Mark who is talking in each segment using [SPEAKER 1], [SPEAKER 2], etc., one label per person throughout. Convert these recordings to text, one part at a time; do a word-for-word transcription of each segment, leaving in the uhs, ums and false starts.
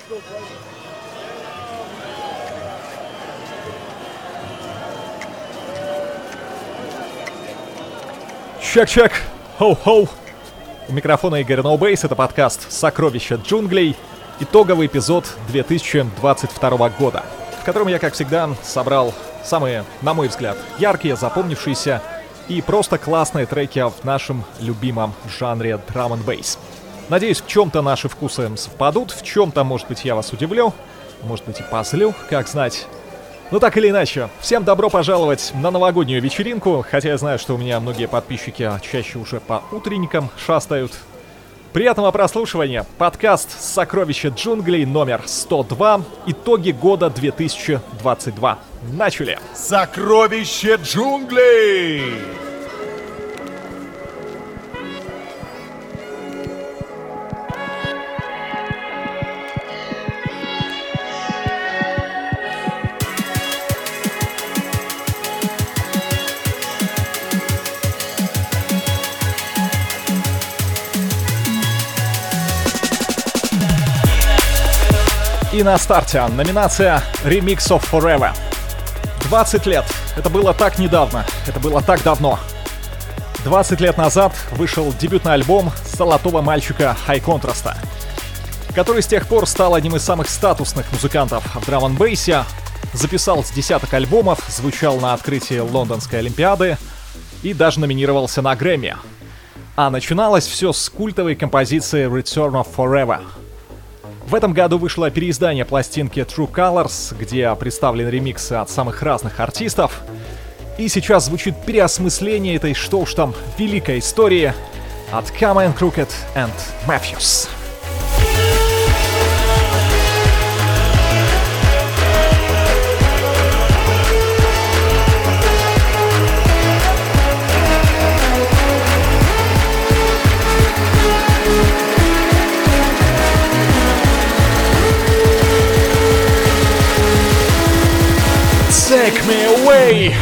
[SPEAKER 1] Чек-чек, хоу-хоу. У микрофона Игорь Ноубейс, это подкаст «Сокровища джунглей», итоговый эпизод две тысячи двадцать второго года, в котором я, как всегда, собрал самые, на мой взгляд, яркие, запомнившиеся и просто классные треки в нашем любимом жанре драм энд бейс. Надеюсь, в чем-то наши вкусы совпадут, в чем-то, может быть, я вас удивлю, может быть, и позлю, как знать. Ну так или иначе, всем добро пожаловать на новогоднюю вечеринку, хотя я знаю, что у меня многие подписчики чаще уже по утренникам шастают. Приятного прослушивания. Подкаст «Сокровища джунглей» номер сто два. Итоги года две тысячи двадцать два. Начали!
[SPEAKER 2] Сокровища джунглей!
[SPEAKER 1] И на старте номинация Remix of Forever. двадцать лет. Это было так недавно. Это было так давно. двадцать лет назад вышел дебютный альбом золотого мальчика High Contrast, который с тех пор стал одним из самых статусных музыкантов в драм-н-бейсе, записал с десяток альбомов, звучал на открытии Лондонской Олимпиады и даже номинировался на Грэмми. А начиналось все с культовой композиции Return of Forever. В этом году вышло переиздание пластинки True Colors, где представлены ремиксы от самых разных артистов. И сейчас звучит переосмысление этой, что уж там, великой истории от Common, Crooked and Matthews. Take me away!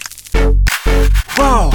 [SPEAKER 1] Wow!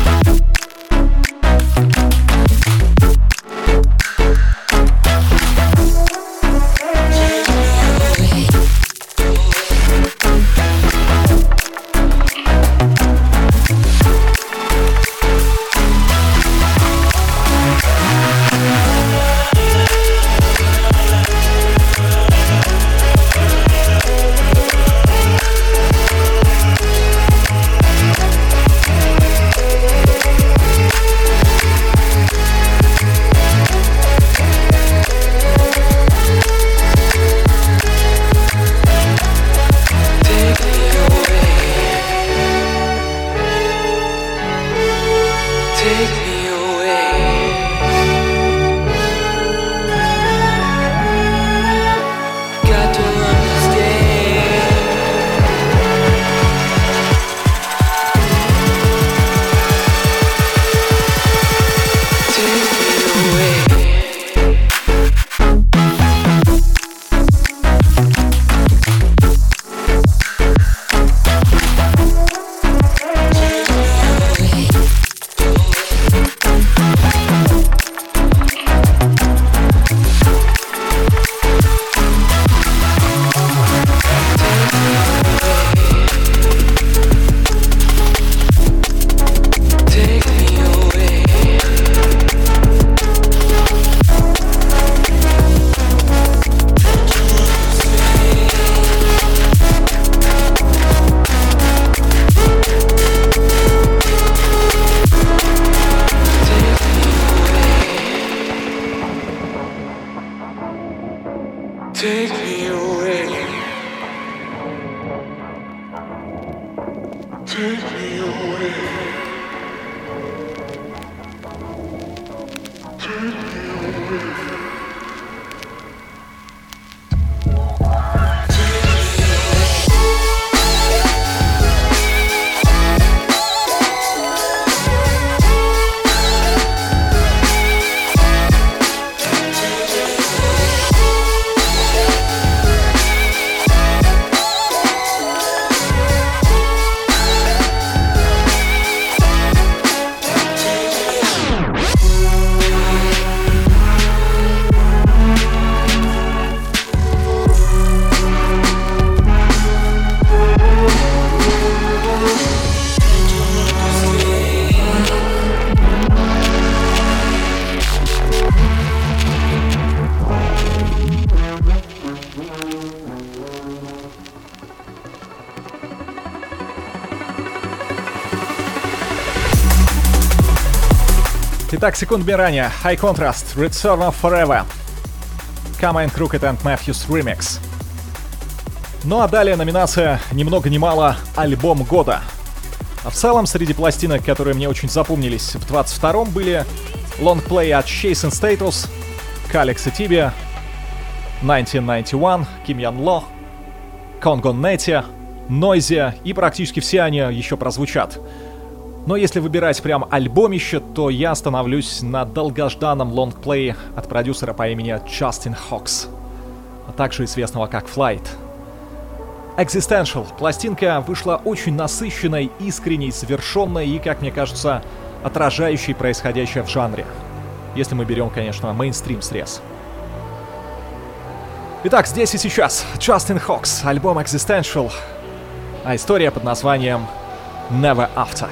[SPEAKER 3] Take me away. Take me away. Take me away.
[SPEAKER 1] Итак, секундами ранее High Contrast, Return of Forever, Carmine Crooked and Matthews Remix. Ну а далее номинация ни много ни мало «Альбом года». А в целом, среди пластинок, которые мне очень запомнились в двадцать втором, были лонгплей от Chase and Status, Kalex и Tibia, тысяча девятьсот девяносто один, Kim Yan Lo, Congo Netty, Noisia, и практически все они еще прозвучат. Но если выбирать прям альбомище, то я остановлюсь на долгожданном лонгплее от продюсера по имени Justin Hawkes, а также известного как Flight. Existential. Пластинка вышла очень насыщенной, искренней, завершенной и, как мне кажется, отражающей происходящее в жанре. Если мы берем, конечно, мейнстрим срез. Итак, здесь и сейчас Justin Hawkes, альбом Existential, а история под названием Never After.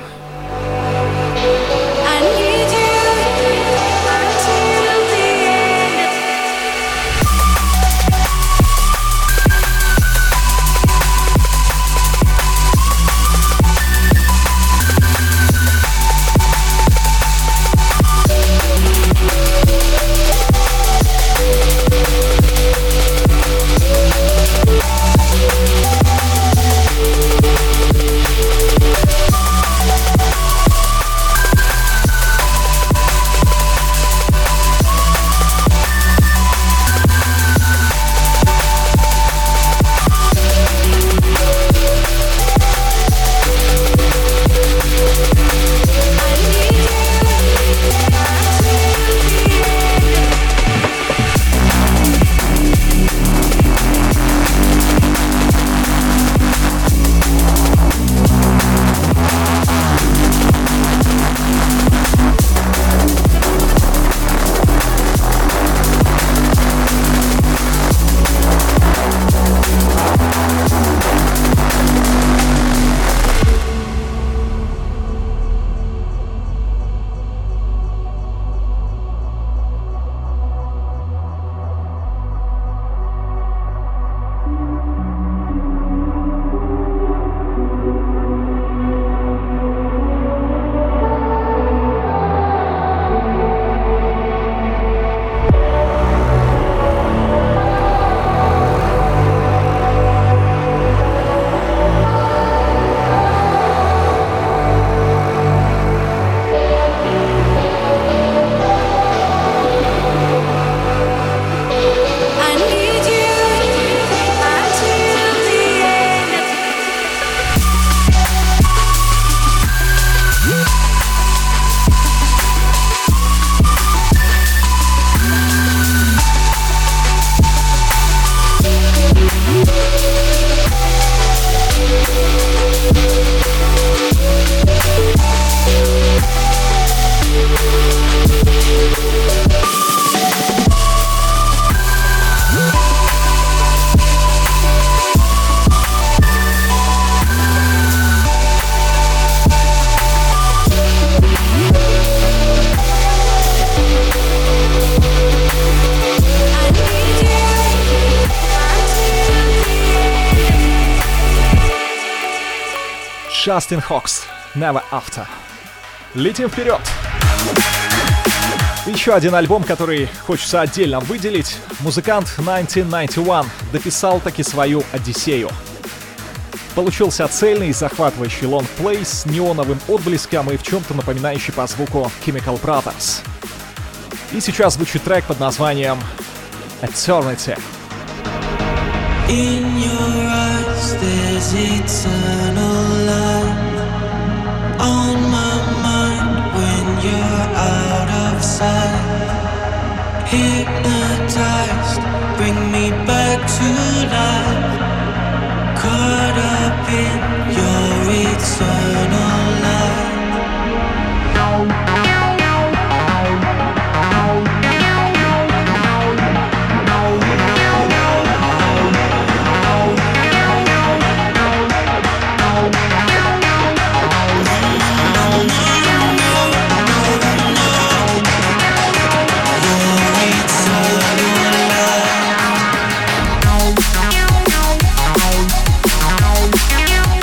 [SPEAKER 1] Justin Hawkes, Never After. Летим вперед! Еще один альбом, который хочется отдельно выделить. Музыкант тысяча девятьсот девяносто один дописал таки свою Одиссею. Получился цельный и захватывающий лонгплей с неоновым отблеском и в чем-то напоминающий по звуку Chemical Brothers. И сейчас звучит трек под названием Eternity.
[SPEAKER 4] In your eyes there's eternal light on my mind when you're out of sight. Hypnotized, bring me back to life. Caught up in your eternal light.
[SPEAKER 5] We'll be right back.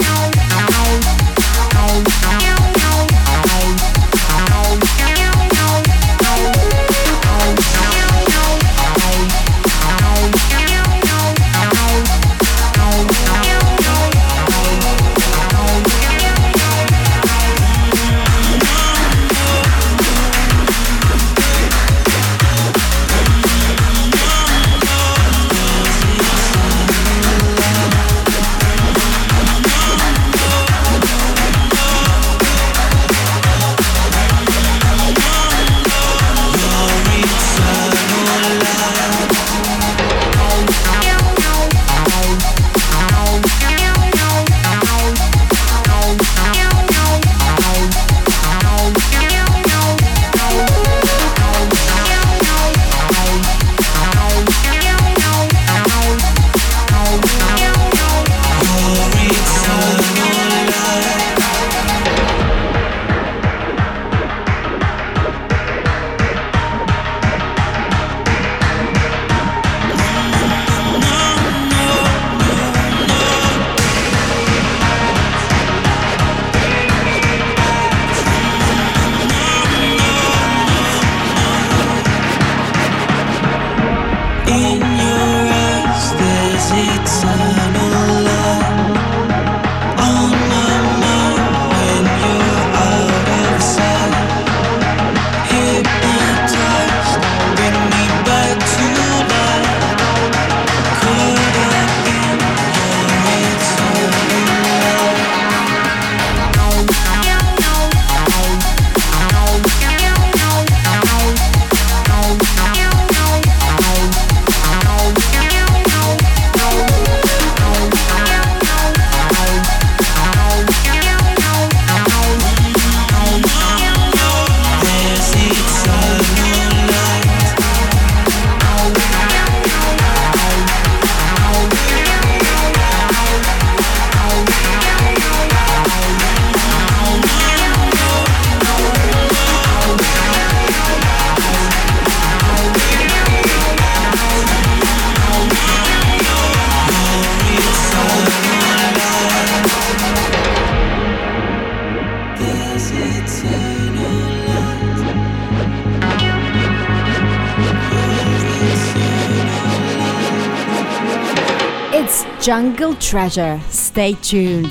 [SPEAKER 5] Jungle Treasure. Stay tuned.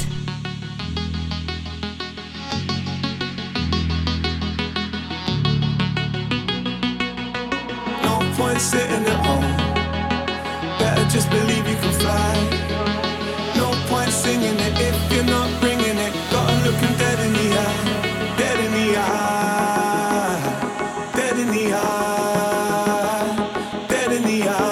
[SPEAKER 6] No point sitting at home. Better just believe you can fly. No point singing it if you're not bringing it. Gotta look 'em dead in the eye. Dead in the eye. Dead in the eye. Dead in the eye.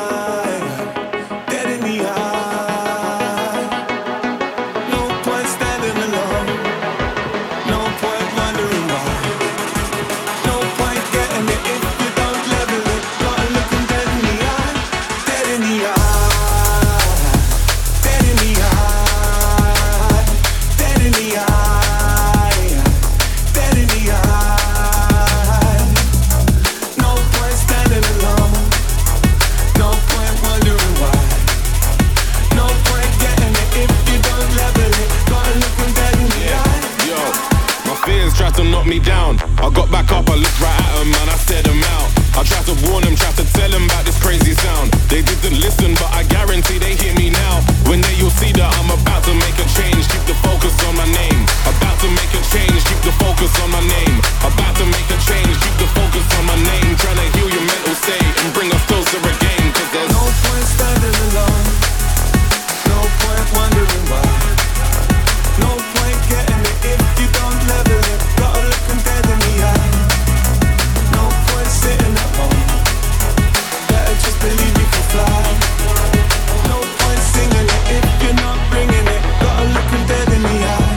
[SPEAKER 7] Me down. I got back up, I looked right at them and I stared them out. I tried to warn them, tried to tell them about this crazy sound. They didn't listen, but I guarantee they hear me now. When they you'll see that I'm about to make a change. Keep the focus on my name. About to make a change. Keep the focus on my name. About to make a change. Keep the focus on my name. Trying to heal your mental state and bring us closer again. Cause there's
[SPEAKER 6] no point standing alone. No point wondering why. No point getting it if you don't level it. Gotta look 'em dead in the eye. No point sitting at home. Better just believe you can fly. No point singing it if you're not bringing it. Gotta look 'em dead in the eye.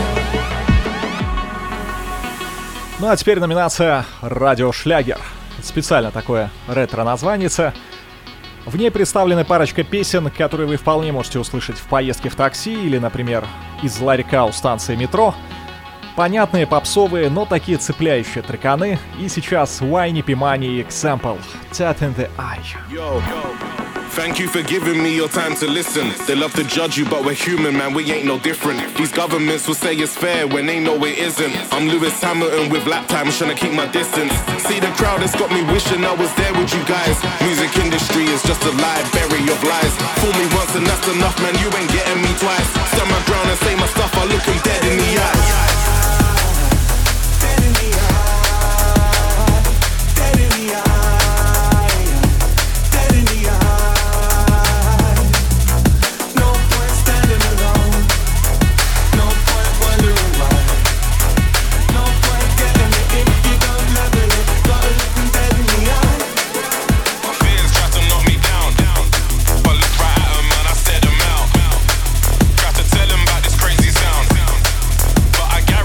[SPEAKER 1] Ну а теперь номинация «Радиошлягер». Специально такое ретро-названице. В ней представлены парочка песен, которые вы вполне можете услышать в поездке в такси или, например, из ларька у станции метро. Понятные, попсовые, но такие цепляющие треканы. И сейчас Whiny P. Money Example Tat in the Eye.
[SPEAKER 7] Yo, thank you for giving me your time to listen. They love to judge you, but we're human, man, we ain't no different. These governments will say it's fair when they know it isn't. I'm Lewis Hamilton with lap times, trying to keep my distance. See the crowd that's got me wishing I was there with you guys. Music industry is just a library of lies. Fool me once and that's enough, man, you ain't getting me twice. Stand my ground and say my stuff, I look 'em dead in the eyes.
[SPEAKER 6] I got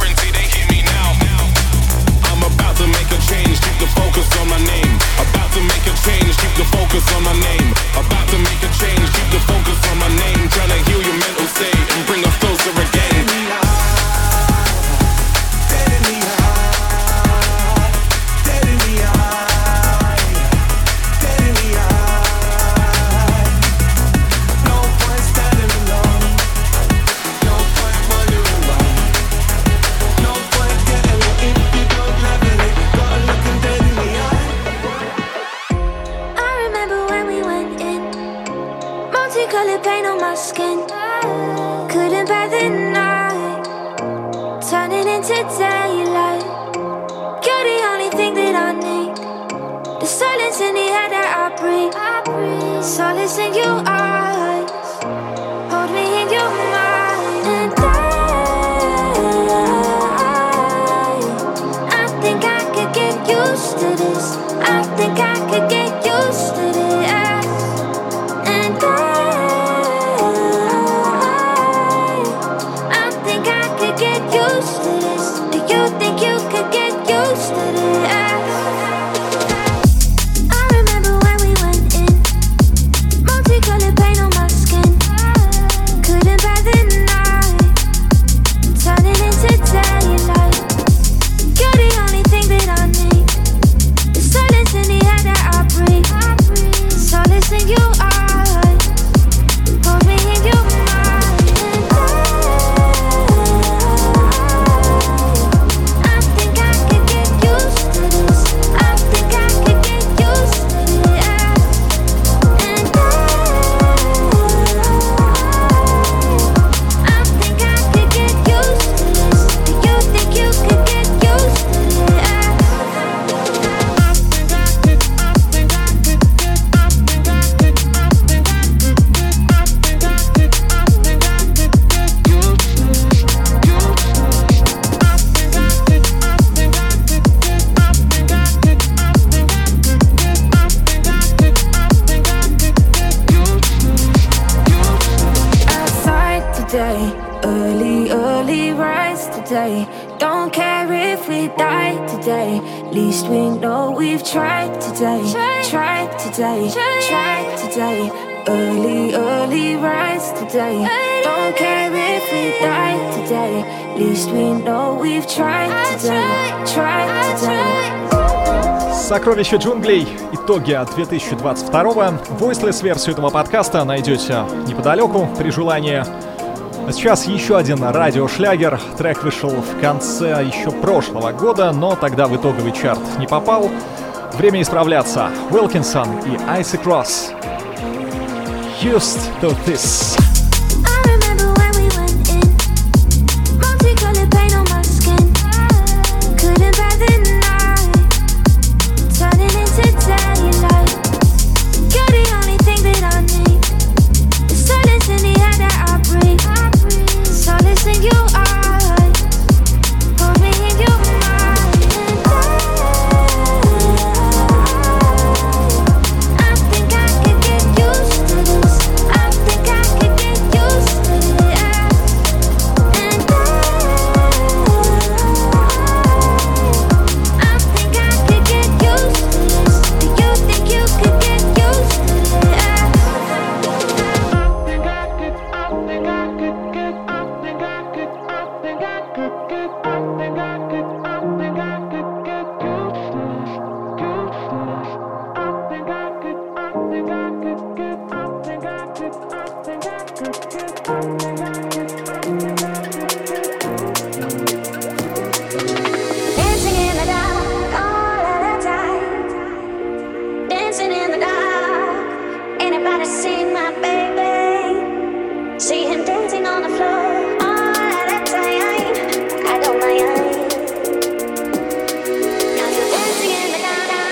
[SPEAKER 8] multicolored paint on my skin. Couldn't bear the night, turning into daylight. You're the only thing that I need. The silence in the air that I breathe. Solace in your eyes, hold me in your mind. And I, I think I could get used to this. I think I could get used to this. And I, I think I could get used to this. Do you think you could get used to this? Multicolored paint on my skin. Couldn't bear the night, turning into daylight. You're the only thing that I need. The silence in the air that I breathe. Solace in your eyes, hold me in your mind. And I, I think I could get used to this. I think I could get used to this. And I, I think I could get used to this. Do you think you could get used to this? I think I could, I think I could get, I think I could, I think I could get, I think I could, I think I could get used to this. I think I could, I think I could get, I think I could, I think I could get, I think I could, I think I could get used to this. Outside today, early, early rise today. Don't care if we die today. Least we know we've tried today. Tried today, tried today. Early, early rise today. Don't care if we die today. Least we know we've tried today. Tried today.
[SPEAKER 1] Сокровища джунглей. Итоги две тысячи двадцать второго. Voiceless-версию этого подкаста найдете неподалеку при желании. А сейчас еще один радиошлягер. Трек вышел в конце еще прошлого года, но тогда в итоговый чарт не попал. Время исправляться. Wilkinson и Icy Cross. Used to this.
[SPEAKER 8] I remember when we went in. Multicolored paint on my skin. Couldn't bear the night, turning into daylight. You're the only thing that I need. The silence in the air that I breathe. Solace in your eyes, hold me in your mind. And I, I think I could get used to this. I think I could get used to this. And I, I think I could get used to this. Do you think you could get used to this? I think I could, I think I could get, I think I could, I think I could get, I think I could, I think I could get used to this. I think I could, I think I could get, I think I could, I think I could get, I think I could, I think I could get. Dancing in the dark all of the time. Dancing in the dark. Anybody see my baby? See him dancing on the floor all of the time. I don't mind. 'Cause you're dancing in the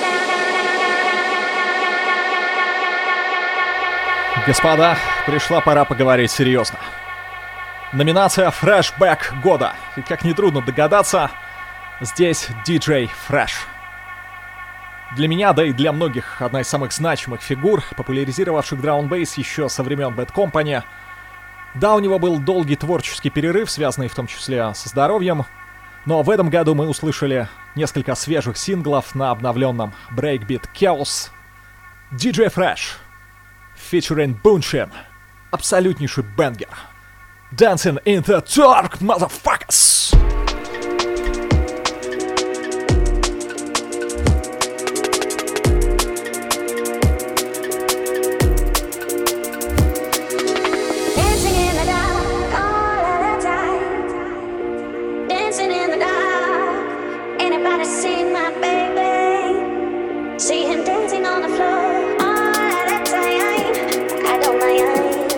[SPEAKER 8] dark.
[SPEAKER 1] Господа, пришла пора поговорить серьезно. Номинация «Фрешбэк года». И как нетрудно догадаться, здесь диджей Fresh. Для меня, да и для многих, одна из самых значимых фигур, популяризировавших драм-н-бейс еще со времен Bad Company. Да, у него был долгий творческий перерыв, связанный в том числе со здоровьем, но в этом году мы услышали несколько свежих синглов на обновленном Breakbeat Chaos. диджей Fresh, featuring Bunshin, абсолютнейший бенгер. Dancing in the dark, motherfuckers!
[SPEAKER 8] Dancing in the dark all of the time. Dancing in the dark. Anybody see my baby? See him dancing on the floor all of the time. I don't mind.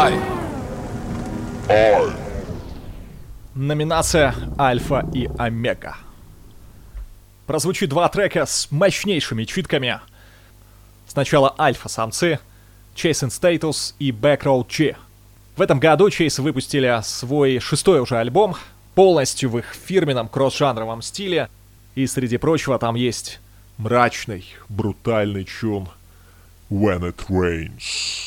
[SPEAKER 9] I.
[SPEAKER 2] I.
[SPEAKER 1] Номинация Альфа и Омега. Прозвучит два трека с мощнейшими читками. Сначала Альфа-самцы, Chase and Status и Backroad G. В этом году Chase выпустили свой шестой уже альбом, полностью в их фирменном кросс-жанровом стиле. И среди прочего там есть
[SPEAKER 2] Мрачный, брутальный чун When It Rains.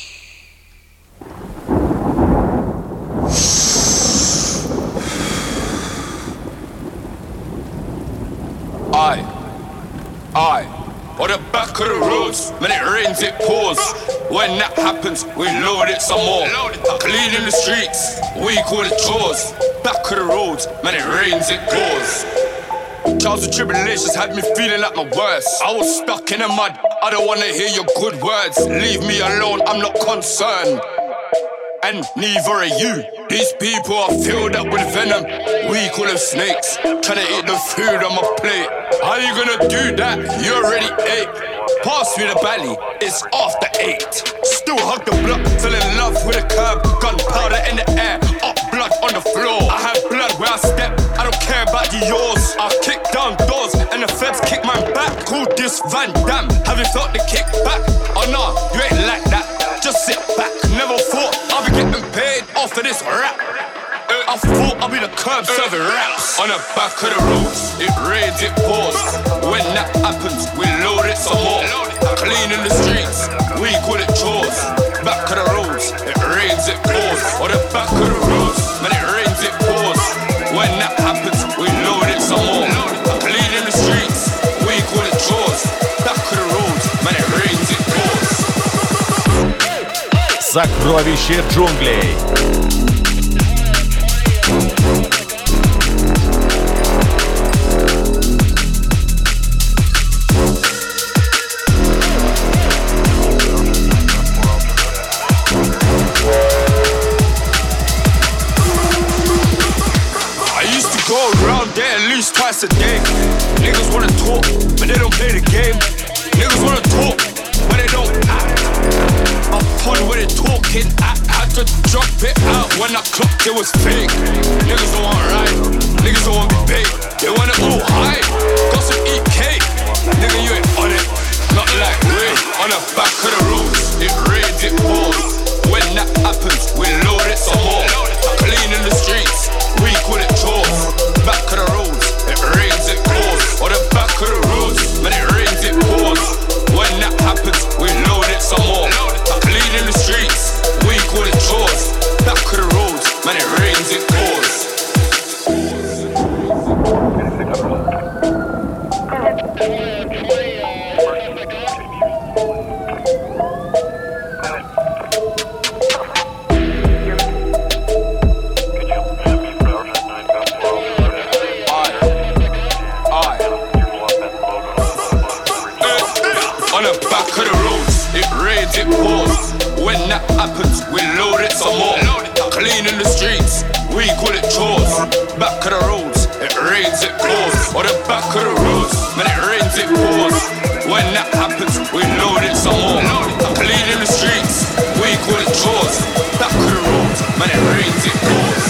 [SPEAKER 9] I, I, on the back of the roads, when it rains it pours. When that happens, we load it some more. Cleaning the streets, we call it chores. Back of the roads, when it rains it pours. Trials and tribulations had me feeling like my worst. I was stuck in the mud, I don't wanna hear your good words. Leave me alone, I'm not concerned. And neither are you. These people are filled up with venom. We call them snakes. Tryna eat the food on my plate. How you gonna do that? You already ate. Pass me the belly, it's after eight. Still hug the block, fell in love with a curb. Gunpowder in the air, up blood on the floor. I have blood where I step, I don't care about the yours. I kick down doors and the feds kick my back. Call this Van Damme, have you felt the kick back? Oh no, you ain't like that, just sit back. Never thought I'll be getting paid off of this rap. I thought I'd be the curb serving raps. On the back of the roads, it rains, it pours. When that happens, we load it some more. Cleaning the streets, we call it chores. Back of the roads, it rains, it pours. On the back of the roads, when it rains, it pours. When that happens, we load it some more. Cleaning the streets, we call it chores. Back of the roads, when it rains, it pours.
[SPEAKER 2] Сокровище джунглей.
[SPEAKER 9] Twice a day. Niggas wanna talk, but they don't play the game. Niggas wanna talk, but they don't act. I'm fun with it talking. I had to drop it out when I clocked it was fake. Niggas don't want ride, niggas don't want be paid. They want it all high, got some E K. Nigga, you ain't on it, not like we. On the back of the roads, it rains, it pours. When that happens, we load it some more. Cleaning the streets, we call it chores. Back of the roads, it rains, it pours. On the back of the roads, when it rains, it pours. When that happens, we load it some more. Cleaning the streets, we call it chores. Back of the roads, when it rains, it pours. It pours. When that happens, we load it some more. Cleaning the streets, we call it chores. Back of the roads, it rains, it pours. On the back of the roads, when it rains, it pours. When that happens, we load it some more. Cleaning the streets, we call it chores. Back of the roads, when it rains, it pours.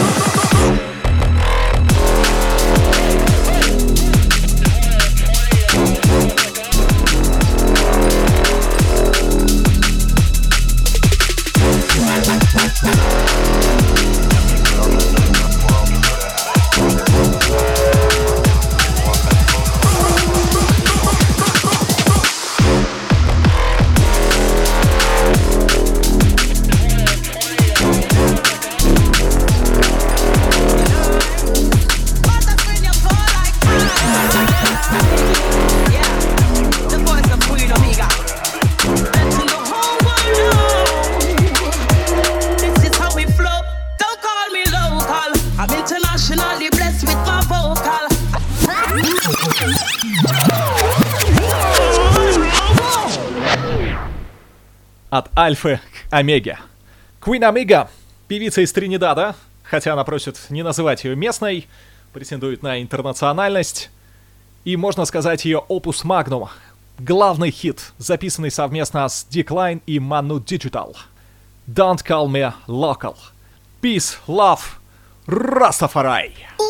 [SPEAKER 1] От Альфы к Омеге. Queen Omega, певица из Тринидада, хотя она просит не называть ее местной, претендует на интернациональность. И можно сказать ее Opus Magnum, главный хит, записанный совместно с Decline и Manu Digital. Don't Call Me Local. Peace, Love, Rastafari.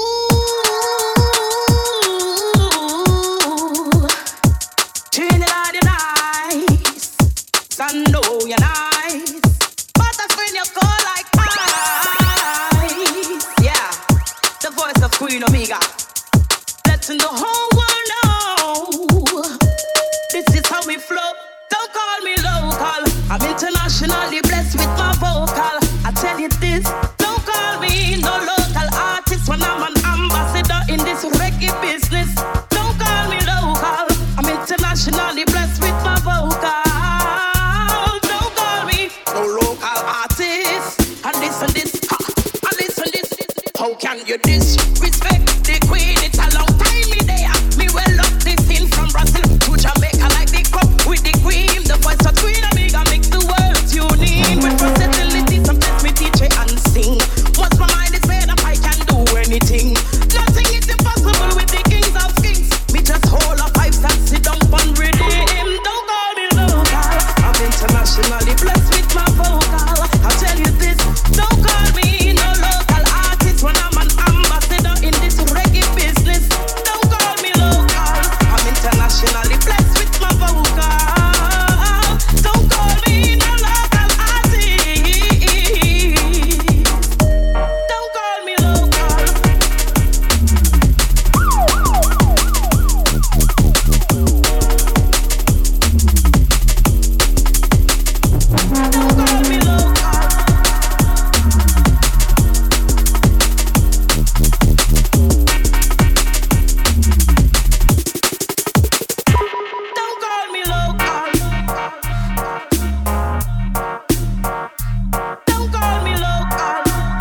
[SPEAKER 10] Trinidad, you're nice. Sun, know you're nice. But that's when you go like ice. Yeah, the voice of Queen Omega. Letting the whole world know this is how we flow. Don't call me local. I'm internationally blessed with my vocal. I tell you this, don't call me no local artist when I'm an ambassador in this reggae business. Don't call me local. I'm internationally blessed with my vocal. Don't call me no local artist. And this and this, ha, and this and this. How can you disrespect the queen? It's a long time me there. Me well up this in from Brazil to Jamaica like the cup with the cream. The voice of Queen Omega makes the world tune in. With versatility, sometimes me teach it and sing. Once my mind is made up, I can do anything. Nothing is impossible with the kings of kings. Me just hold up pipes and sit down and redeem. Don't call me local. I'm internationally blessed with my vocal. I'll tell you this, don't call me no local artist when I'm an ambassador in this reggae business. Don't call me local. I'm internationally blessed with my vocal. Don't call me no local artist. Don't call me local. Don't call me local. Don't call me local. Don't call me local.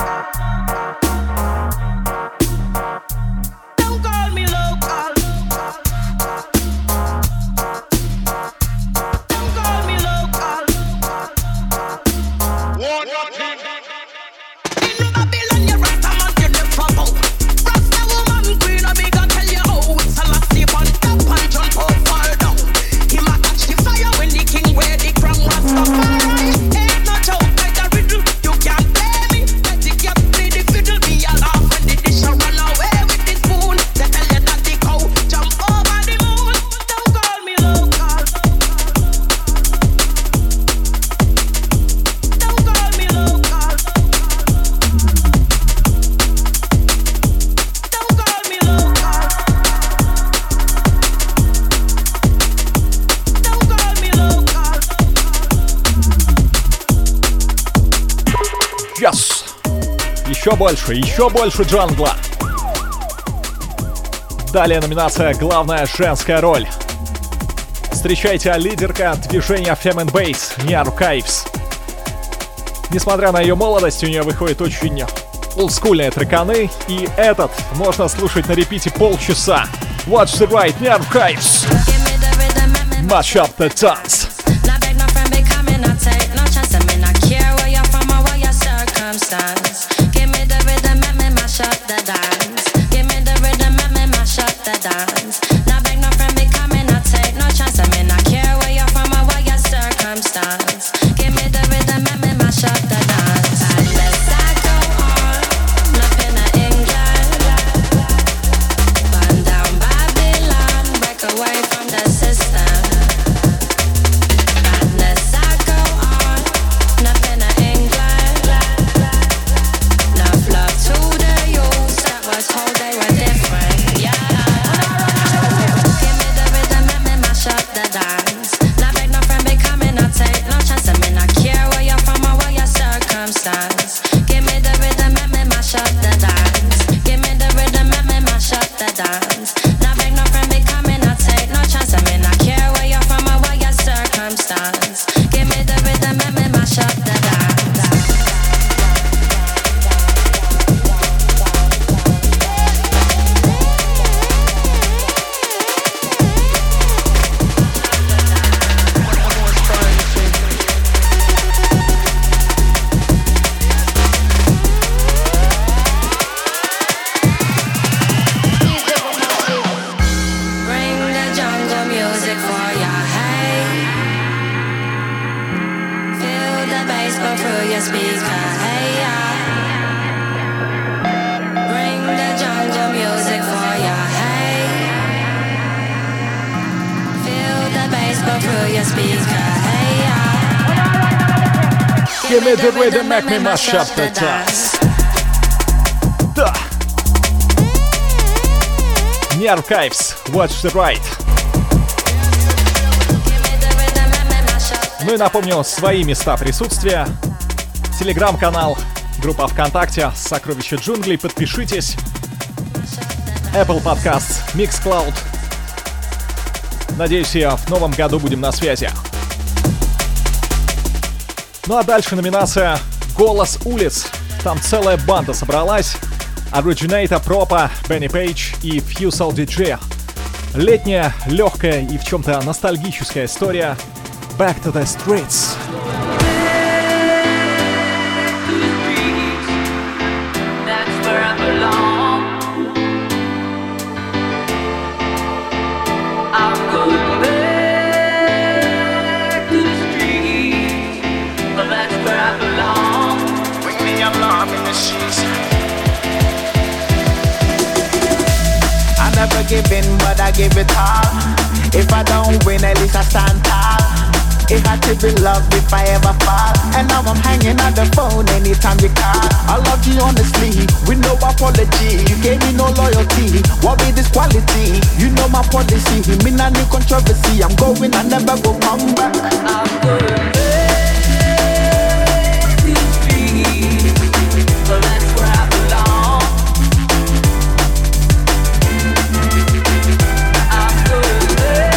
[SPEAKER 10] Don't call me local. Don't call me local. In Babylon, you Rasta man, you never bow. Rasta woman, Queen Omega, tell you how it's a last sleep on top and jump up, fall down. Him a catch the fire when the king wear the crown. Rastafari ain't no joke like a riddle. You can't play me. Let the cat play the fiddle. Me a laugh when the dish a run away with the spoon. They tell you that the cow jump over the moon. Don't call me local. Don't call me local. Don't call me local. Don't call me local.
[SPEAKER 1] Yes! Еще больше, еще больше джангла. Далее номинация «Главная женская роль». Встречайте лидерка движения Fem and Bass, Nia Archives. Несмотря на ее молодость, у нее выходит очень олдскульные треканы, и этот можно слушать на репите полчаса. Watch the right, Nia Archives. Mash up the dance.
[SPEAKER 11] Not beg no friend becoming, I take no chance. I mean, I care where you're from or what your circumstance. Give me the rhythm, let me mash up the dance. Give me the rhythm, let me mash up the dance. Not beg no friend becoming, I take no chance. I mean, I care where you're from or what your circumstance. Give me the rhythm, let me mash up the dance. Unless I go on, up in England, burn down Babylon, break away from the system. go through your speaker. Hey, yeah. Bring the jungle music for ya. Hey. Feel the bass go through your speaker. Hey, yeah.
[SPEAKER 1] Give me the rhythm, make me mash up the dance. Да. Nerve Knives, Watch the Right. Ну и напомню свои места присутствия. Телеграм-канал, группа ВКонтакте «Сокровища джунглей». Подпишитесь. Apple Podcasts, Mixcloud. Надеюсь, и в новом году будем на связи. Ну а дальше номинация «Голос улиц». Там целая банда собралась. Originator, Пропа, Бенни Пейдж и Fusel ди джей. Летняя, легкая и в чем-то ностальгическая история. Back to the streets.
[SPEAKER 10] That's where I belong. I'm going back to the streets. But that's where I belong. Bring me along in the sheets.
[SPEAKER 12] I never give in, but I give it all. If I don't win, at least I stand tall. It had to be love if I ever fall. And now I'm hanging on the phone anytime you call. I love you honestly, with no apology. You gave me no loyalty, what be this quality? You know my policy, me not need controversy. I'm going, I never go come back.
[SPEAKER 10] I'm going back to the streets. So that's where I belong. I'm going back.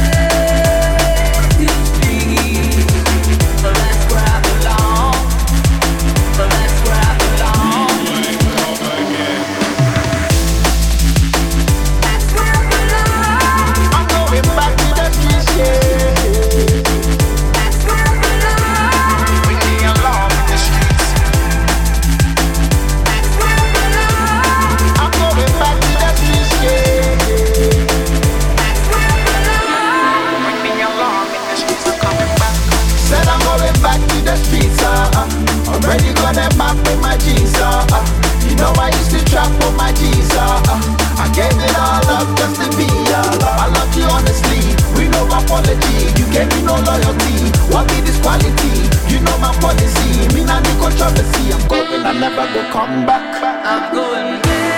[SPEAKER 12] Already got that map with my G's, uh, uh. You know I used to trap on my G's, uh, uh. I gave it all up just to be all up. I love you honestly, we no apology. You gave me no loyalty, what be this quality? You know my policy, me not need controversy. I'm going, I never go come back.
[SPEAKER 10] I'm going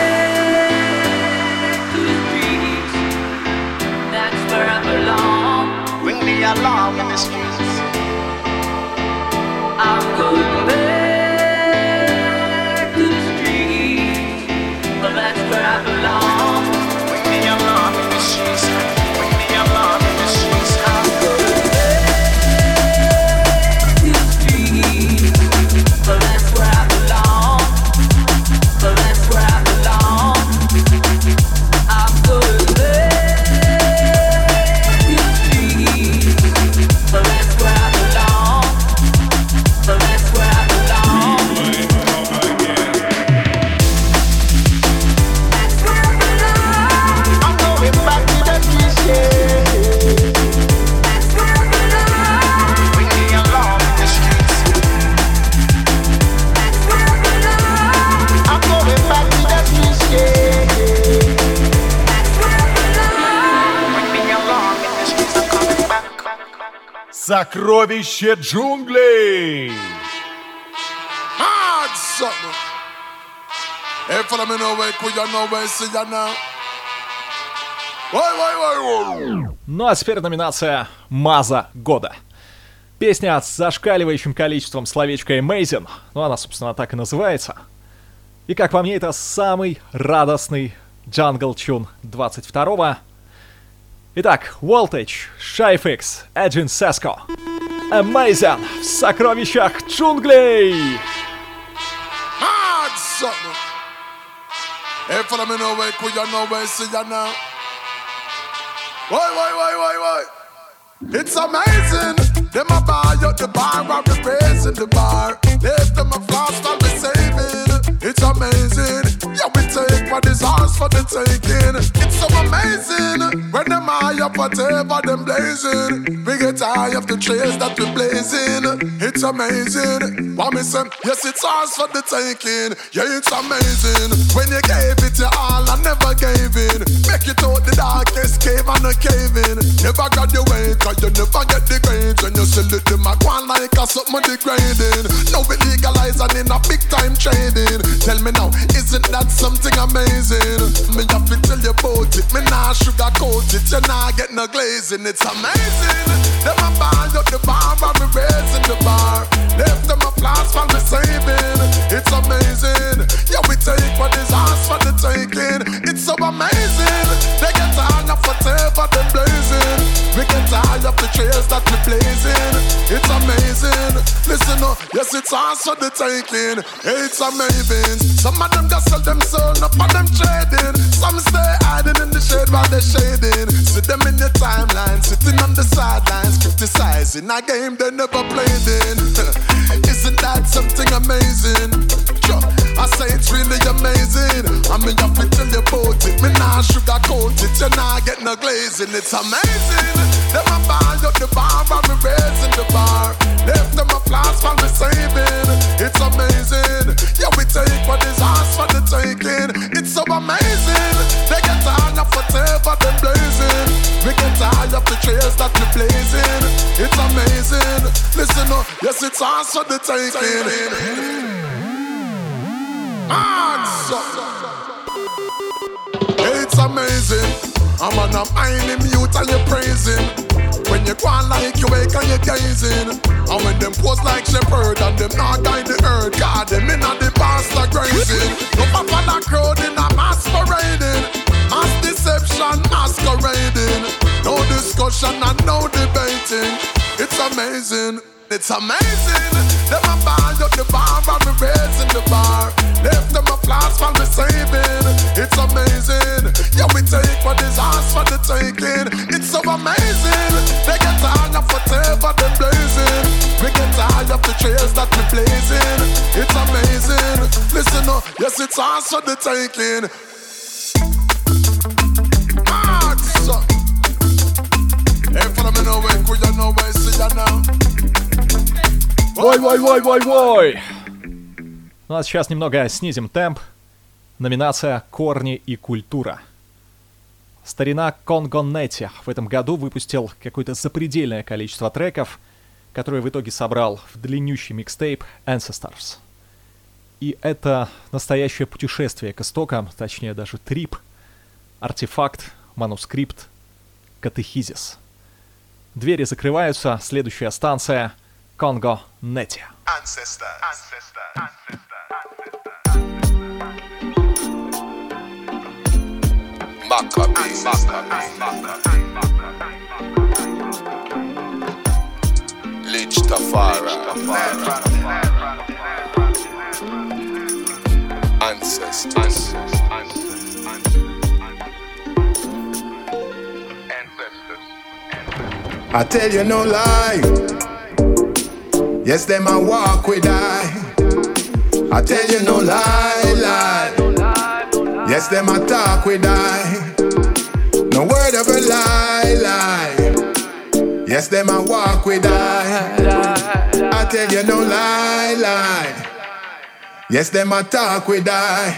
[SPEAKER 10] back to the streets. That's where I belong.
[SPEAKER 12] Bring me along in the streets.
[SPEAKER 10] I'm going back to the streets, but that's where I belong.
[SPEAKER 12] Bring me along in the streets. Bring me along in the streets.
[SPEAKER 10] I'm going back to the streets, but that's where I belong. But that's where I belong. I'm going back to the streets, but that's where I belong. But that's where I belong. That's where I belong.
[SPEAKER 12] I'm going back to the streets, yeah.
[SPEAKER 10] That's where I belong.
[SPEAKER 12] Bring me along in the streets.
[SPEAKER 10] That's where I belong.
[SPEAKER 12] I'm going back to the streets, yeah.
[SPEAKER 10] That's where I belong.
[SPEAKER 12] Bring me along in the streets. I'm coming back.
[SPEAKER 2] Сокровище джунглей!
[SPEAKER 6] Hard something. Hey, follow me no way, could you know where see ya now? Why, why, why, why?
[SPEAKER 1] Ну а теперь номинация «Маза года». Песня с зашкаливающим количеством словечка «amazing». Ну, она, собственно, так и называется. И, как по мне, это самый радостный джангл-чун двадцать второго. Итак, Voltage, Shy-Fix, Agent Sesco. Amazing в сокровищах джунглей!
[SPEAKER 6] Hard something. Hey, follow me no way, could you know where see ya now? Why, why, why, why, why? It's amazing. Them a buy up the bar, I'm raising the bar. Left them a flash, while we saving. It's amazing. Yeah, we take what is ours for the taking. It's so amazing. When them eye up whatever them blazing. We get high of the trails that we blazing. It's
[SPEAKER 13] it's amazing. What me say? Yes, it's ours for the taking. Yeah, it's amazing. When you gave it your all, I never gave in. Make it out the darkest cave and a cave in. Never graduate, cause you never get the grades. When you sell it, them a go on like a something degrading. Now we legalize and in a big time trading. Tell me now, isn't that something amazing? Me have to tell you about it. Me nah sugarcoat it. You nah get no glazing. It's amazing. Them a ball up the bar and me raising the bar. Left them a applause for me saving. It's amazing. Yeah, we take what is ours for the taking. It's so amazing. They get tired of whatever them blazing. We get tired of the trails that we blazing. It's amazing. Listen up, yes, it's ours for the taking. It's amazing. Some of them just sell them soul, up on them trading. Some stay hiding in the shade while they're shading. See them in your timeline, sitting on the sidelines, criticizing a game they never played in. Isn't that something amazing? I say it's really amazing. I mean, you have to tell you about it. Me nah sugarcoat it. You nah get no glazing. It's amazing. Them a ball up the bar and me raising the bar. Left them applause for me saving. It's amazing. Yeah, we take what is ours for the taking. It's so amazing. They get tired of whatever them blazing. We get tired of the trails that we blazing. It's amazing. Listen up, yes, it's ours for the taking. Answer. It's amazing. I'm on a mind in mute and you're praising. When you go on like you wake and you're gazing. And when them pose like shepherd and them not guide the earth. God, them in the pastor grazing. No papa la crowd in a masquerading. Mass deception masquerading. No discussion and no debating. It's amazing. It's amazing. Them a ball up the bar and me raising the bar. Left them applause for me saving. It's amazing. Yeah, we take what is ours for the taking. It's so amazing. They get tired of whatever they're blazing. We get tired of the trails that we blazing. It's amazing. Listen up, yes, it's ours for the taking. Answer. Hey, follow me now, when could you know where I see you now?
[SPEAKER 1] Вой, вой, вой, вой, вой. Ну а сейчас немного снизим темп. Номинация «Корни и культура». Старина Конго Нетти в этом году выпустил какое-то запредельное количество треков, которые в итоге собрал в длиннющий микстейп Ancestors. И это настоящее путешествие к истокам, точнее даже трип, артефакт, манускрипт, катехизис. Двери закрываются, следующая станция — Конго Нетти.
[SPEAKER 14] Ancestor, ancestor, ancestor, ancestor. Maccabee, Maccabee, Maccabee. Lich Tafara, Ancestors,
[SPEAKER 15] I tell you no lie. Yes, them a walk with I. I tell you no lie, lie. Yes, them a talk with I. No word of a lie, lie. Yes, them a walk with I. I tell you no lie, lie. Yes, them a talk with I.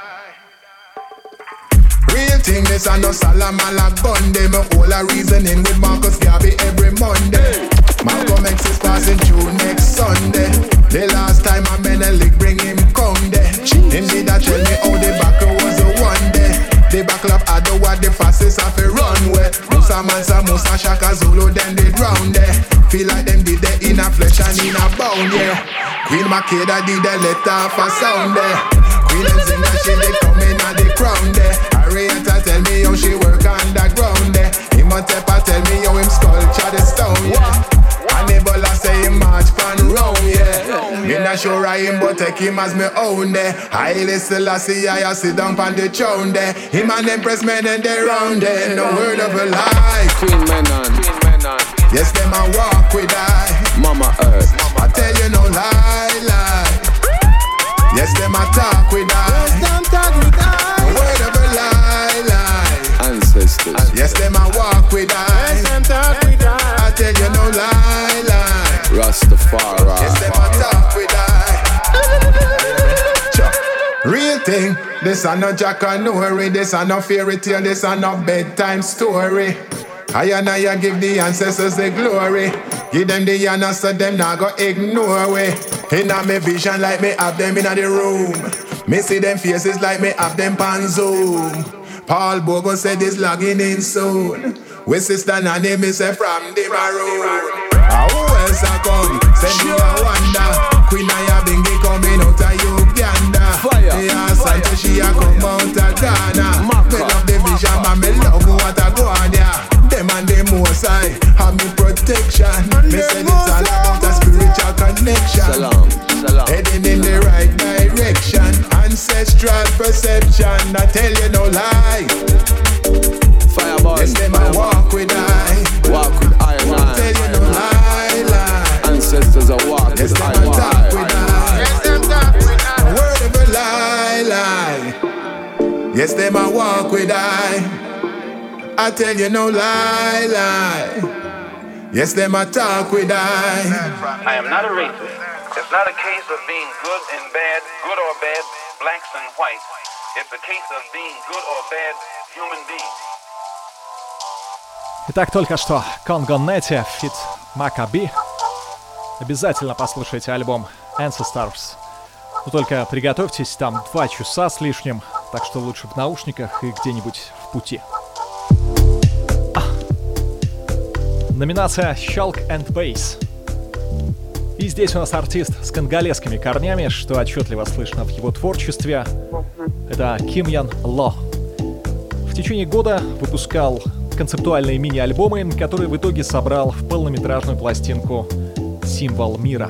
[SPEAKER 15] Real thing, this a no Salamala gun. Them a whole a reasoning with Marcus Garvey every Monday. Malcolm X is passing through next Sunday. The last time I Menelik bring him come there. Indeed, I tell me how the battle was a one day. The battle of Adowa, the fastest of a runway. Musa Mansa, Musa Shaka Zulu, then they drown there. Feel like them did it in a flesh and in a bone, yeah. Queen Makeda did the let off a sound there. Queen Nzinga, she they coming at the crown there. Arietta tell me how she work underground there. Imhotep tell me how him sculpture the stone, yeah. Ebola say him march pan round, yeah. Me not sure I him, but take him as me own there. Haile Selassie, I sit down pan the throne there. Him and Empress men and they round there. No word of a lie.
[SPEAKER 16] Queen Menon, Queen Menon.
[SPEAKER 15] Yes, them a walk with I.
[SPEAKER 16] Mama Earth,
[SPEAKER 15] I tell you no lie, lie. Yes, them a talk with I.
[SPEAKER 12] Yes, them talk with I.
[SPEAKER 15] No word of a lie, lie.
[SPEAKER 16] Ancestors.
[SPEAKER 15] Yes, them a walk with I.
[SPEAKER 12] Yes, them talk with I.
[SPEAKER 15] I tell you no lie, lie.
[SPEAKER 16] Rastafari. Tafara.
[SPEAKER 15] Yes, them a talk with I. Real thing. This a no Jack and Nori. This a no fairy tale. This a no bedtime story. I and I give the ancestors the glory. Give them the honor so them not go ignore we. Inna me vision like me have them inna the room. Me see them faces like me have them pan Zoom. Paul Bogo said this logging in soon. We sister Nanny me say from the maroon. Ah, who else a come? Send me a wonder. Queen Aya Bingi coming out of Uganda. Fire. Yeah, Santo she a come out of Ghana. Me love the vision, man, me love what a go on ya. Them and them most high have me protection. Me said it's all about a spiritual connection.
[SPEAKER 16] Salam, salam.
[SPEAKER 15] Heading in the right direction. Ancestral perception. I tell you no lie.
[SPEAKER 16] Fireball.
[SPEAKER 15] Yes, them I walk with I.
[SPEAKER 16] Walk with I and I.
[SPEAKER 15] Tell you no lie, lie.
[SPEAKER 16] Ancestors are walk
[SPEAKER 15] yes,
[SPEAKER 16] with I
[SPEAKER 15] them
[SPEAKER 16] and
[SPEAKER 15] talk
[SPEAKER 16] I.
[SPEAKER 15] with I. Yes, them talk with I. Word of a lie, lie. Yes, them I walk with I. I tell you no lie, lie. Yes, them I talk with I.
[SPEAKER 17] I am not a racist. It's not a case of being good and bad, good or bad, blacks and whites. It's a case of being good or bad human beings.
[SPEAKER 1] Итак, только что Congo Netty, фит Maccabi. Обязательно послушайте альбом Ancestors. Но только приготовьтесь, там два часа с лишним, так что лучше в наушниках и где-нибудь в пути. А. Номинация Shulk and Bass. И здесь у нас артист с конголезскими корнями, что отчетливо слышно в его творчестве. Это Ким-Ян Ло. В течение года выпускал концептуальные мини-альбомы, которые в итоге собрал в полнометражную пластинку «Символ мира».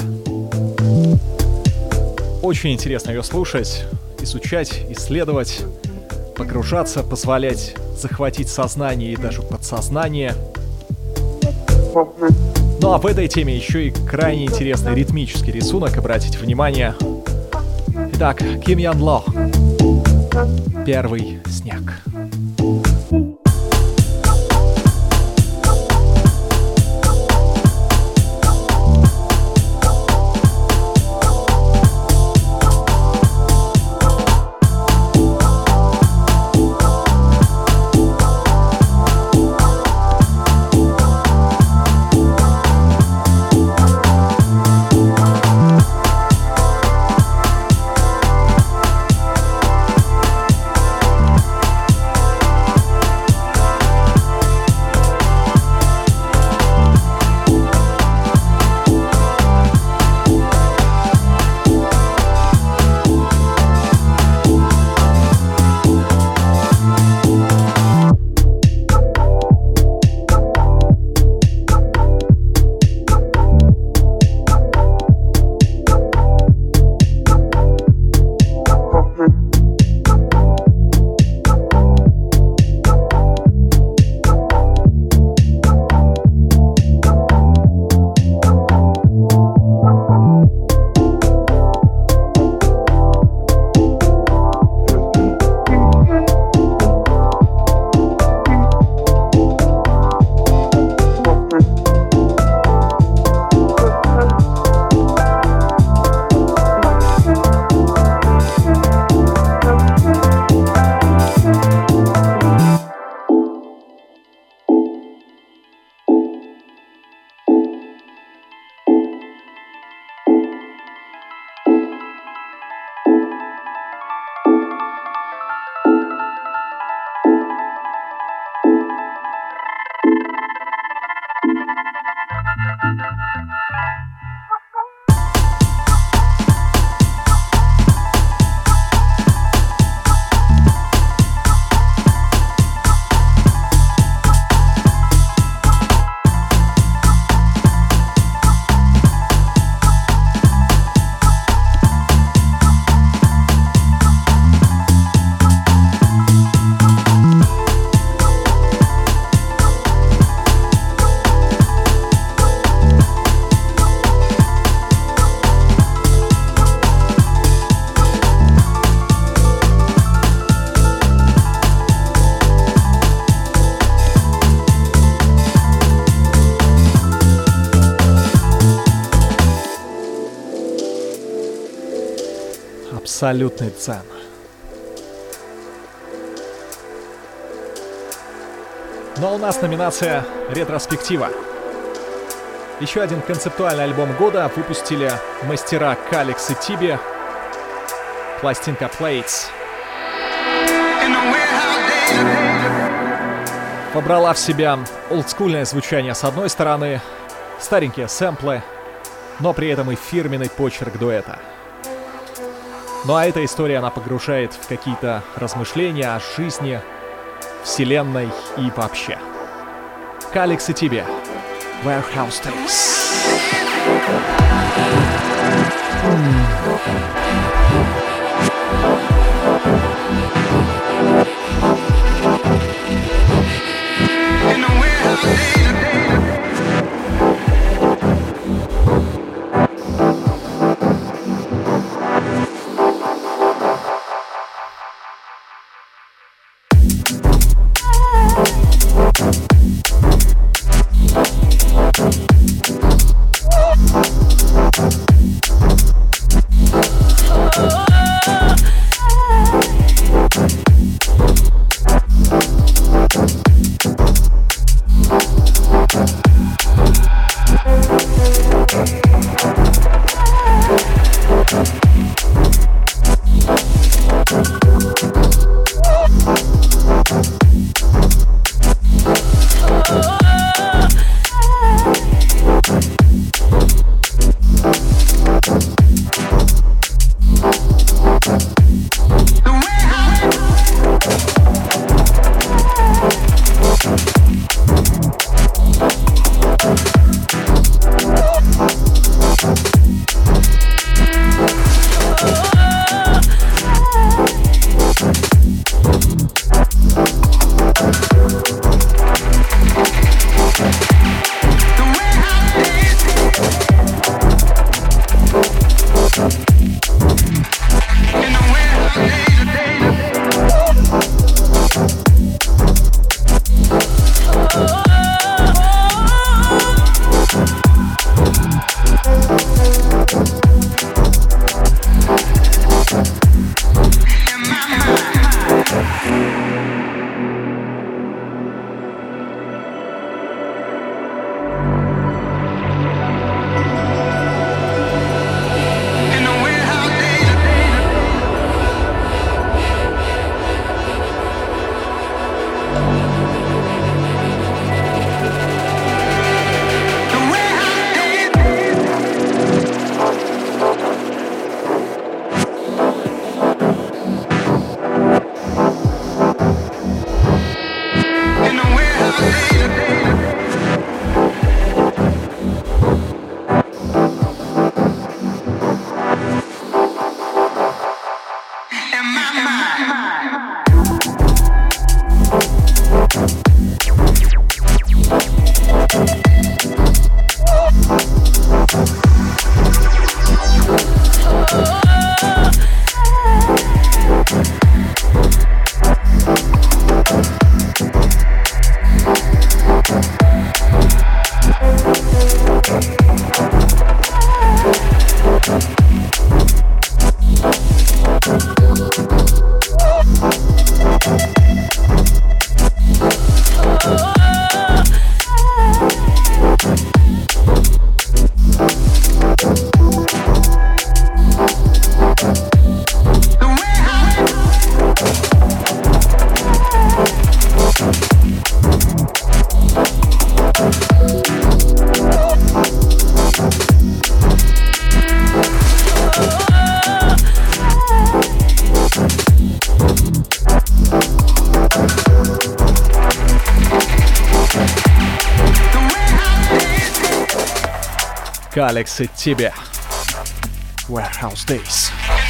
[SPEAKER 1] Очень интересно ее слушать, изучать, исследовать, погружаться, позволять захватить сознание и даже подсознание. Ну а в этой теме еще и крайне интересный ритмический рисунок, обратите внимание. Итак, Ким-Ян Ло. Первый снег. Абсолютный дзен. Но у нас номинация «Ретроспектива». Еще один концептуальный альбом года выпустили мастера Калекс и Тиби. Пластинка Plates. Побрала в себя олдскульное звучание с одной стороны, старенькие сэмплы, но при этом и фирменный почерк дуэта. Ну а эта история, она погружает в какие-то размышления о жизни, вселенной и вообще. Калекс и Тиби. Warehouse Days. Калекс и Тиби. Warehouse Days.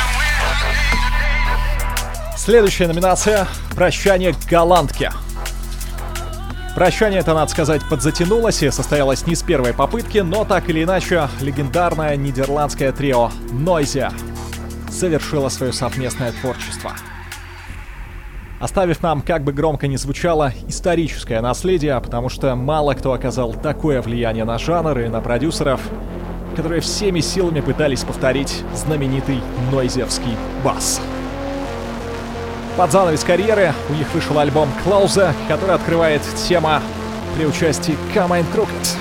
[SPEAKER 1] Следующая номинация — «Прощание голландки». Прощание это, надо сказать, подзатянулось и состоялось не с первой попытки, но так или иначе легендарное нидерландское трио Noisia завершило свое совместное творчество, оставив нам, как бы громко ни звучало, историческое наследие, потому что мало кто оказал такое влияние на жанр и на продюсеров, которые всеми силами пытались повторить знаменитый нойзерский бас. Под занавес карьеры у них вышел альбом «Closer», который открывает тема при участии Come and Crooked.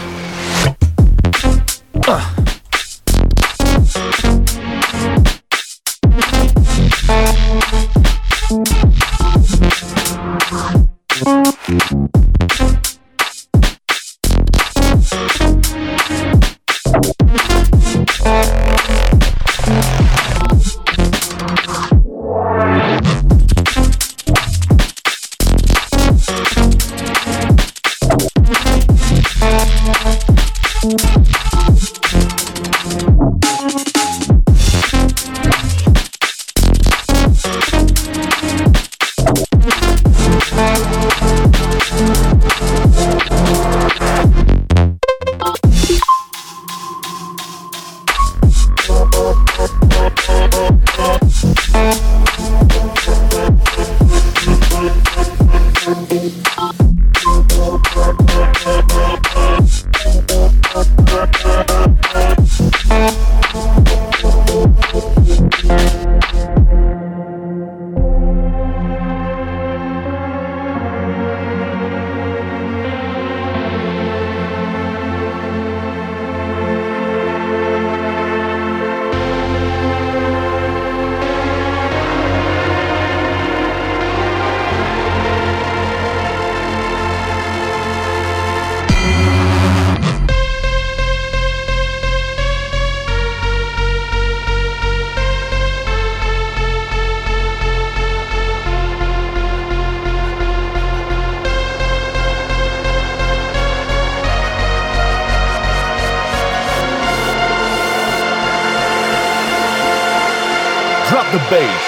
[SPEAKER 2] Drop the bass.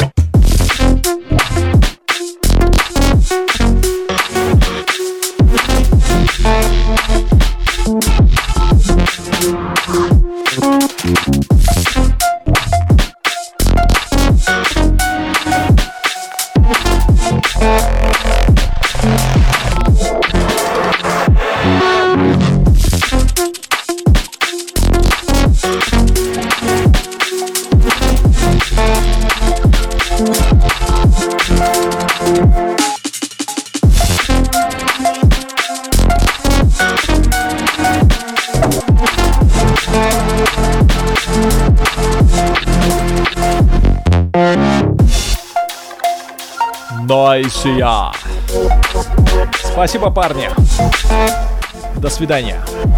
[SPEAKER 1] Нойсия. Спасибо, парни. До свидания.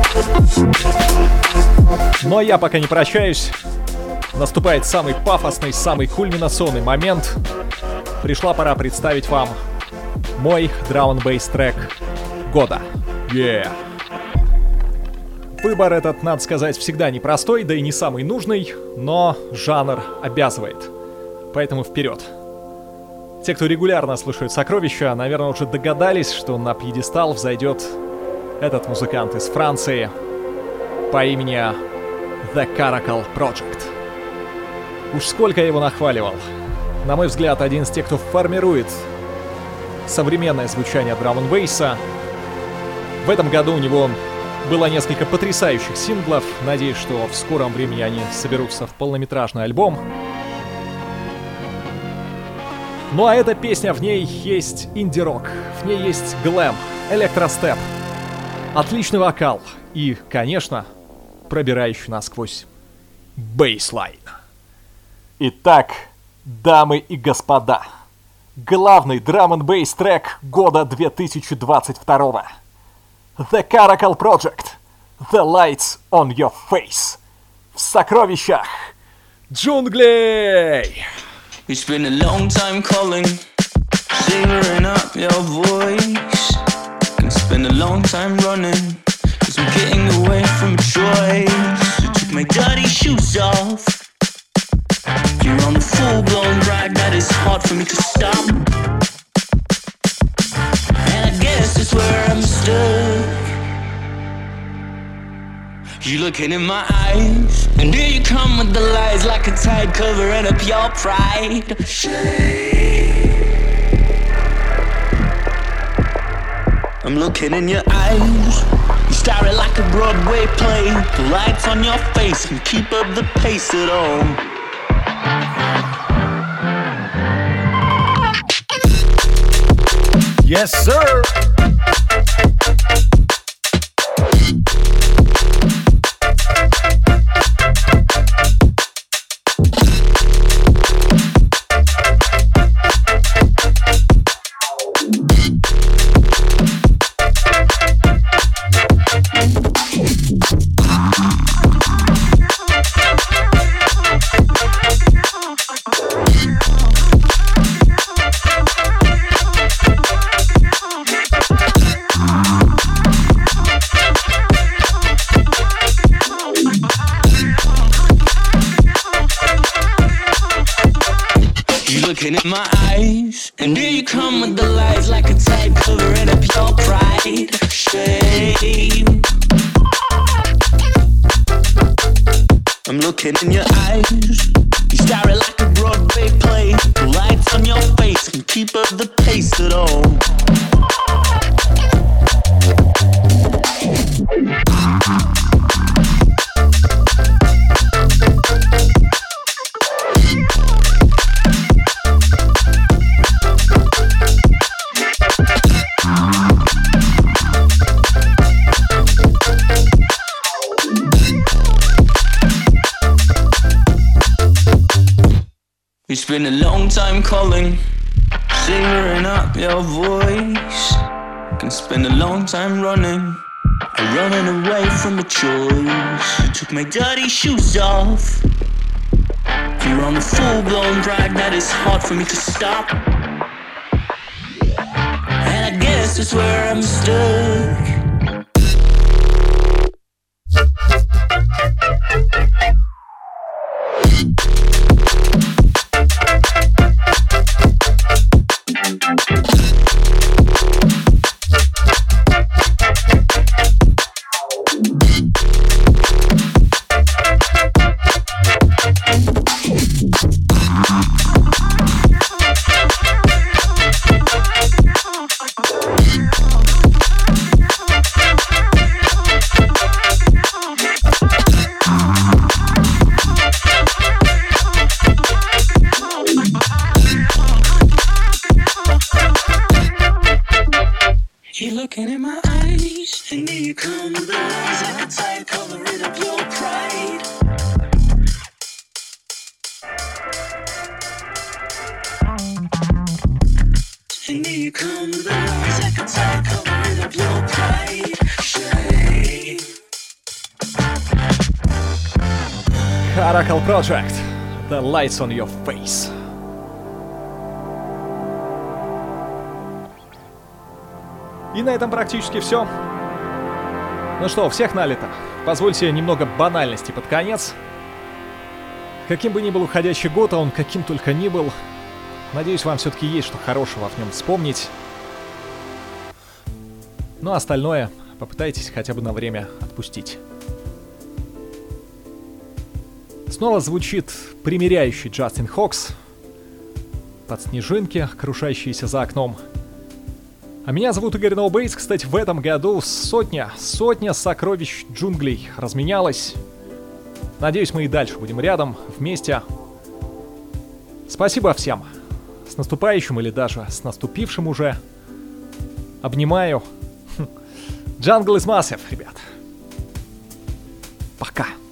[SPEAKER 1] Но я пока не прощаюсь. Наступает самый пафосный, самый кульминационный момент. Пришла пора представить вам мой драм-н-бейс трек года. Yeah. Выбор этот, надо сказать, всегда непростой, да и не самый нужный, но жанр обязывает. Поэтому вперед. Те, кто регулярно слушает «Сокровища», наверное, уже догадались, что на пьедестал взойдет этот музыкант из Франции по имени The Caracal Project. Уж сколько я его нахваливал. На мой взгляд, один из тех, кто формирует современное звучание драм-н-бейса. В этом году у него было несколько потрясающих синглов. Надеюсь, что в скором времени они соберутся в полнометражный альбом. Ну а эта песня, в ней есть инди-рок, в ней есть глэм, электростеп, отличный вокал и, конечно, пробирающий насквозь бейслайн. Итак, дамы и господа, главный драм-н-бейс трек года две тысячи двадцать второго. The Caracal Project, The Lights on Your Face. В сокровищах джунглей!
[SPEAKER 4] It's been a long time calling, savoring up your voice. It's been a long time running, cause I'm getting away from a choice. I took my dirty shoes off. You're on a full-blown ride that is hard for me to stop. And I guess that's where I'm stuck. You looking in my eyes, and here you come with the lies like a tide covering up your pride. I'm looking in your eyes, you stare it like a Broadway play. The lights on your face can keep up the pace at all.
[SPEAKER 1] Yes, sir!
[SPEAKER 4] Looking in my eyes, and here you come with the lies like a tide covering up your pride. Shame. I'm looking in your eyes. You stare it like a Broadway play. The lights on your face can keep up the pace at all. It's been a long time calling, savoring up your voice. Can spend a long time running, running away from a choice. You took my dirty shoes off. You're on the full-blown ride that is hard for me to stop. And I guess that's where I'm stuck. You're looking in my eyes, and here you come with the lies like a tide covering up your pride. And here you come with the lies like a tide covering up your pride. Shame.
[SPEAKER 1] Caracal Project. The lights on your face. И на этом практически все. Ну что, всех налито. Позвольте немного банальности под конец. Каким бы ни был уходящий год, а он каким только ни был, надеюсь, вам все-таки есть что хорошего в нем вспомнить. Ну а остальное попытайтесь хотя бы на время отпустить. Снова звучит примиряющий Джастин Хокс под снежинки, крушащиеся за окном. А меня зовут Игорь Ноубейтс. Кстати, в этом году сотня, сотня сокровищ джунглей разменялась. Надеюсь, мы и дальше будем рядом, вместе. Спасибо всем. С наступающим или даже с наступившим уже. Обнимаю. Jungle is massive, ребят. Пока.